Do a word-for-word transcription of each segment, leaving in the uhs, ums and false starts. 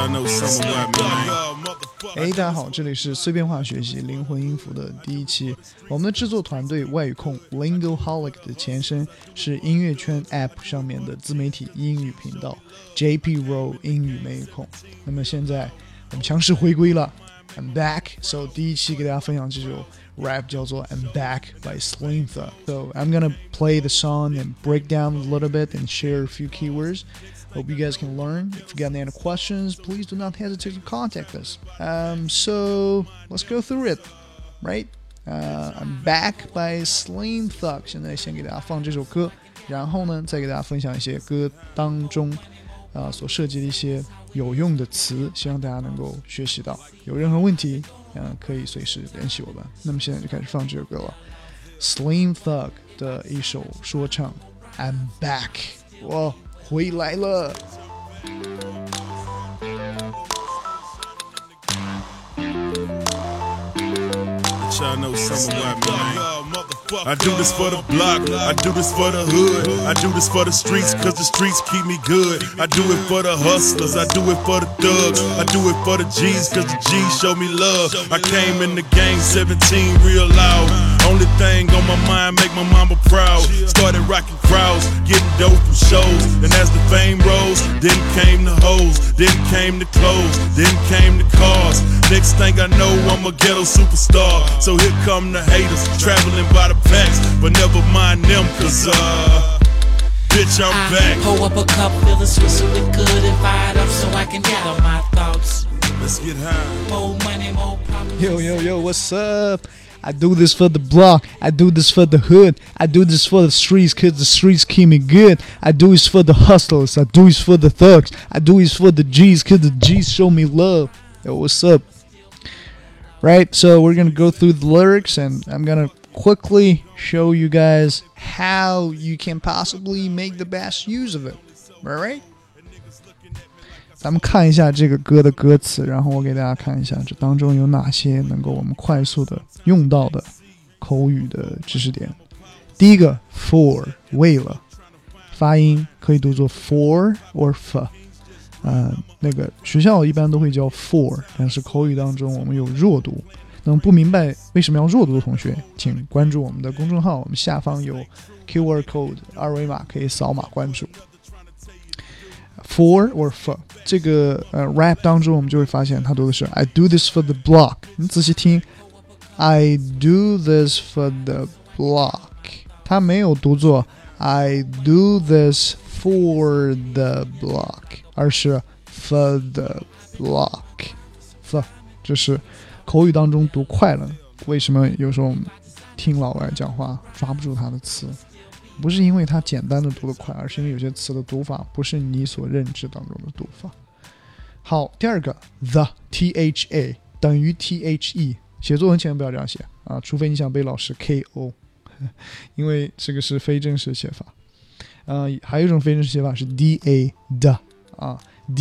哎，大家好，这里是碎片化学习灵魂音符的第一期。我们的制作团队外语控 Lingoholic 的前身是音乐圈 App 上面的自媒体英语频道 J P Roll 英语美语控。那么现在我们强势回归了 I'm back， so 第一期给大家分享这首 rap 叫做 I'm Back by Slim Thug. So I'm gonna play the song and break down a little bit and share a few keywords. Hope you guys can learn. If you got any questions, please do not hesitate to contact us. Um, so let's go through it, right? Uh, I'm Back by Slim Thug. 现在先给大家放这首歌，然后呢，再给大家分享一些歌当中啊、呃、所涉及的一些有用的词，希望大家能够学习到。有任何问题，嗯、呃，可以随时联系我们。那么现在就开始放这首歌了 ，Slim Thug 的一首说唱 ，I'm Back， 我回来了。 Y'all know something about me. I do this for the block, I do this for the hood, I do this for the streets, cause the streets keep me good. I do it for the hustlers, I do it for the thugs, I do it for the G's, cause the G's show me love. I came in the game seventeen real loud. Only thing on my mind, make my mama proud. Started rocking crowds, getting dope from shows. And as the fame rose, then came the hoes, then came the clothes, then came the cars. Next thing I know, I'm a ghetto superstar. So here come the haters, traveling by the packs. But never mind them, cause uh bitch, I'm back. I pull up a cup, feeling swizzling good and fired up so I can gather my thoughts. Let's get high. More money, more problems. Yo, yo, yo, what's up? I do this for the block, I do this for the hood, I do this for the streets cause the streets keep me good. I do this for the hustlers, I do this for the thugs, I do this for the G's cause the G's show me love. Yo, what's up? Right, so we're gonna go through the lyrics and I'm gonna quickly show you guys how you can possibly make the best use of it. Alright? 咱们看一下这个歌的歌词，然后我给大家看一下这当中有哪些能够我们快速的用到的口语的知识点。第一个 for 为了，发音可以读作 for or f， 呃，那个学校一般都会叫 for， 但是口语当中我们有弱读。那么不明白为什么要弱读的同学，请关注我们的公众号，我们下方有 Q R code 二维码可以扫码关注。For or f 这个呃 rap 当中我们就会发现它读的是 I do this for the block， 你仔细听 I do this for the block， 它没有读作 I do this for the block， 而是 for the block。 f 这是口语当中读快了，为什么有时候听老外讲话抓不住他的词，不是因为他简单的读得快，而是因为有些词的读法不是你所认知当中的读法。好，第二个 the tha 等于 the， 写作文前不要这样写啊，除非你想被老师 K O， 因为这个是非正式写法。呃，还有一种非正式写法是 da 的啊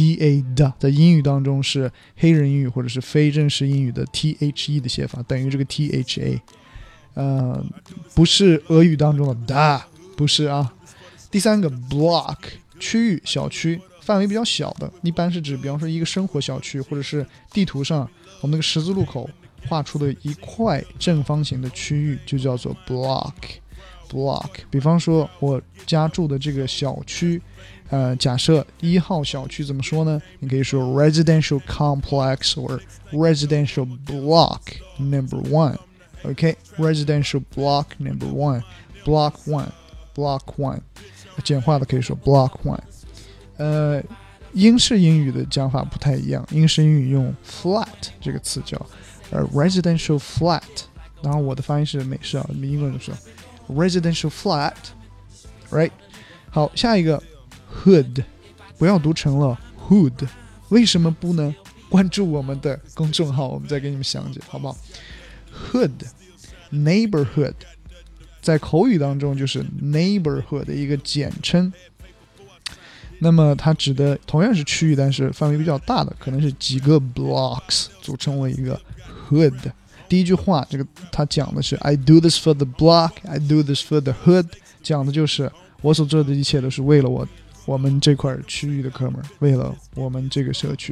da 的，在英语当中是黑人英语或者是非正式英语的 the 的写法，等于这个 tha。呃，不是俄语当中的da，不是啊。第三个 block 区域小区，范围比较小的，一般是指比方说一个生活小区，或者是地图上我们那个十字路口画出的一块正方形的区域就叫做 block block。 比方说我家住的这个小区，呃，假设一号小区怎么说呢？你可以说 residential complex or residential block number one。OK, residential block number one, block one, block one， 简化的可以说 block one。 呃，英式英语的讲法不太一样，英式英语用 flat 这个词叫呃 residential flat， 当然我的发音是美式啊，英国人说 residential flat right。 好，下一个 hood 不要读成了 hood， 为什么不呢？关注我们的公众号，我们再给你们详解好不好。Hood neighborhood 在口语当中就是 neighborhood 的一个简称，那么它指的同样是区域，但是范围比较大的，可能是几个 blocks 组成为一个 hood。 第一句话这个它讲的是 I do this for the block, I do this for the hood， 讲的就是我所做的一切都是为了我我们这块区域的哥们儿，为了我们这个社区。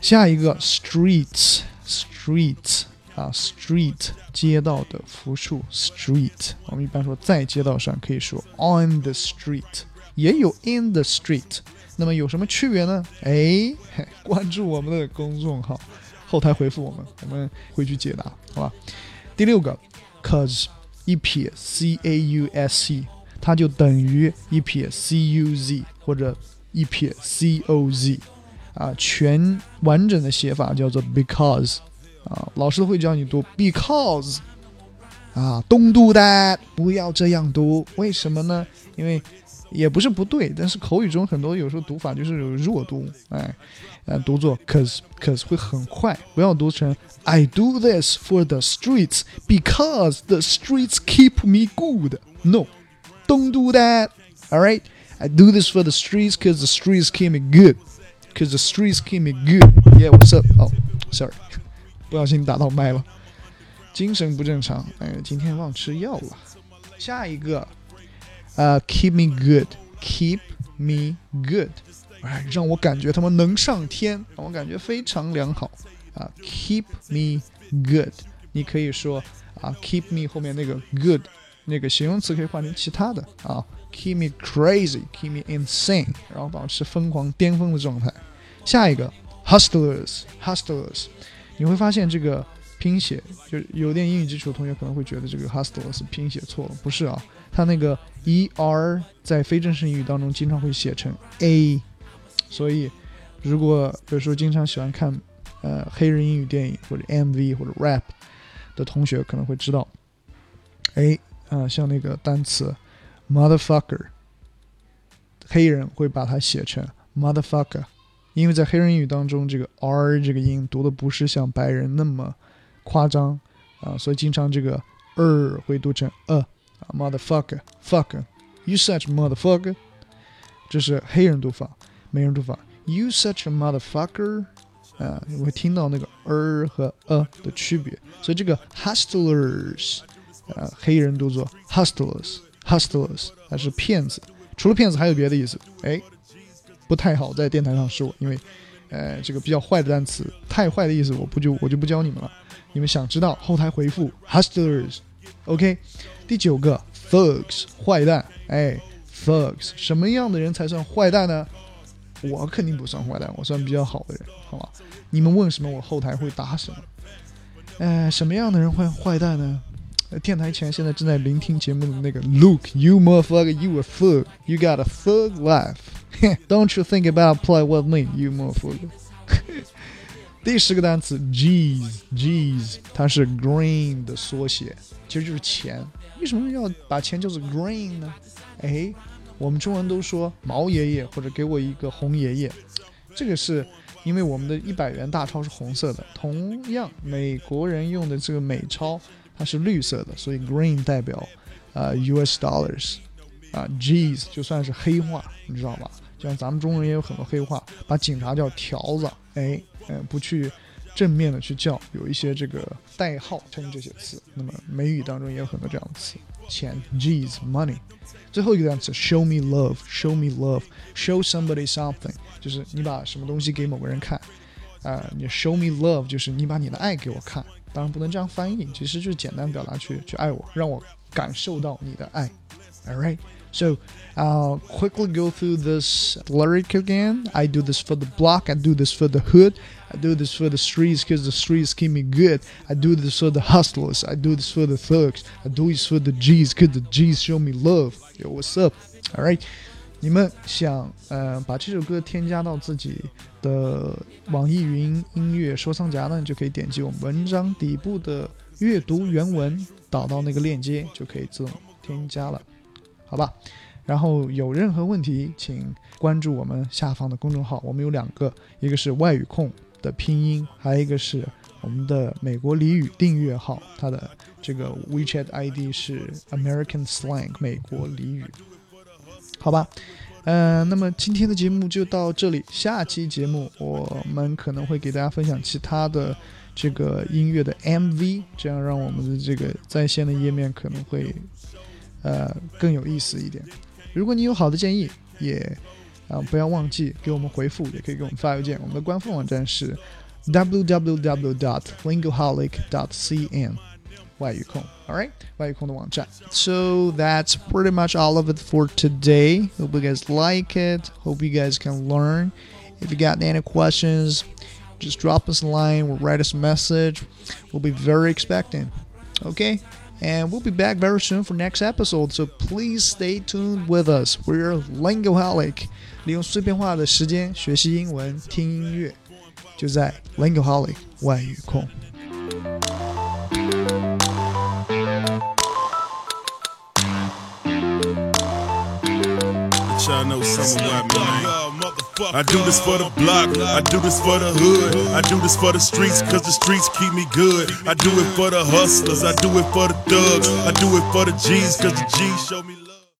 下一个 streets street 啊 street 街道的复数 street， 我们一般说在街道上可以说 on the street， 也有 in the street， 那么有什么区别呢？哎，关注我们的公众号，后台回复我们，我们会去解答，好吧？第六个 cause 一撇 c a u s e， 它就等于一撇 c u z 或者一撇 c o z。啊，全完整的写法叫做 because 啊，老师会教你读 because 啊 ，don't do that， 不要这样读，为什么呢？因为也不是不对，但是口语中很多有时候读法就是有弱读，哎，呃，读作 cause cause 会很快，不要读成 I do this for the streets because the streets keep me good. No, don't do that. All right, I do this for the streets because the streets keep me good.Because the streets keep me good. Yeah, what's up? Oh, sorry. 不小心打到麦了，精神不正常。哎，今天忘吃药了。下一个，呃、uh, ，keep me good. Keep me good. 哎，让我感觉他们能上天，让我感觉非常良好啊。Keep me good. 你可以说啊 ，keep me 后面那个 good 那个形容词可以换成其他的啊。Keep me crazy, keep me insane， 然后保持疯狂巅峰的状态。下一个 hustlers hustlers， 你会发现这个拼写，就有点英语基础的同学可能会觉得这个 hustlers 拼写错了，不是啊，它那个 er 在非正式英语当中经常会写成 a， 所以如果有时候经常喜欢看呃黑人英语电影或者 M V 或者 rap 的同学可能会知道，哎啊、呃，像那个单词motherfucker， 黑人会把它写成 motherfucker， 因为在黑人英语当中，这个 r 这个音读的不是像白人那么夸张啊，所以经常这个 er 会读成 a motherfucker fucker you such a motherfucker， 这是黑人读法，美人读法 you such a motherfucker， 啊，你会听到那个 er 和 a 的区别，所以这个 hustlers， 啊，黑人读作 hustlers。Hustlers， 它是骗子，除了骗子还有别的意思，哎，不太好在电台上说，因为，呃，这个比较坏的单词，太坏的意思我不就我就不教你们了，你们想知道后台回复 hustlers，OK，、okay? 第九个 thugs， 坏蛋，哎 thugs， 什么样的人才算坏蛋呢？我肯定不算坏蛋，我算比较好的人，好吧？你们问什么，我后台会答什么。呃，什么样的人会坏蛋呢？电台前现在正在聆听节目的那个 Luke, you motherfucker, you a thug. You got a thug life. Don't you think about play with me, you motherfucker. 第十个单词 G's, G's 它是 green 的缩写，其实就是钱。为什么要把钱叫做 green 呢？哎，我们中文都说毛爷爷或者给我一个红爷爷，这个是因为我们的一百元大钞是红色的，同样美国人用的这个美钞它是绿色的，所以 green 代表、呃、U S dollars 啊 G's 就算是黑话，你知道吧？就像咱们中文也有很多黑话，把警察叫条子，哎，呃，不去正面的去叫，有一些这个代号称这些词。那么美语当中也有很多这样的词，钱 G's money。最后一个单词 show me love show me love show somebody something 就是你把什么东西给某个人看，呃，你 show me love 就是你把你的爱给我看，当然不能这样翻译，其实就是简单表达去去爱我，让我感受到你的爱。 Alright, so I'll quickly go through this lyric again. I do this for the block, I do this for the hood, I do this for the streets because the streets keep me good, I do this for the hustlers, I do this for the thugs, I do this for the G's because the G's show me love. Yo, what's up? Alright, 你们想呃把这首歌添加到自己的网易云音乐收藏夹呢，就可以点击我们文章底部的阅读原文，导到那个链接就可以自动添加了，好吧？然后有任何问题请关注我们下方的公众号，我们有两个，一个是外语控的拼音，还有一个是我们的美国俚语订阅号，它的这个 WeChat I D 是 American Slang 美国俚语，好吧？呃，那么今天的节目就到这里，下期节目我们可能会给大家分享其他的这个音乐的 M V， 这样让我们的这个在线的页面可能会呃更有意思一点。如果你有好的建议，也啊，不要忘记给我们回复，也可以给我们发邮件。我们的官方网站是 w w w dot lingoholic dot c n 外语控 alright 外语控的网站。 So that's pretty much all of it for today. Hope you guys like it. Hope you guys can learn. If you got any questions, just drop us a line or write us a message. We'll be very expecting. Okay? And we'll be back very soon for next episode. So please stay tuned with us. We're Lingoholic. 利用碎片化的时间学习英文，听音乐，就在 Lingoholic 外语控。 Y'all know something about me, man. I do this for the block, I do this for the hood, I do this for the streets, cause the streets keep me good. I do it for the hustlers, I do it for the thugs, I do it for the G's, cause the G's show me love.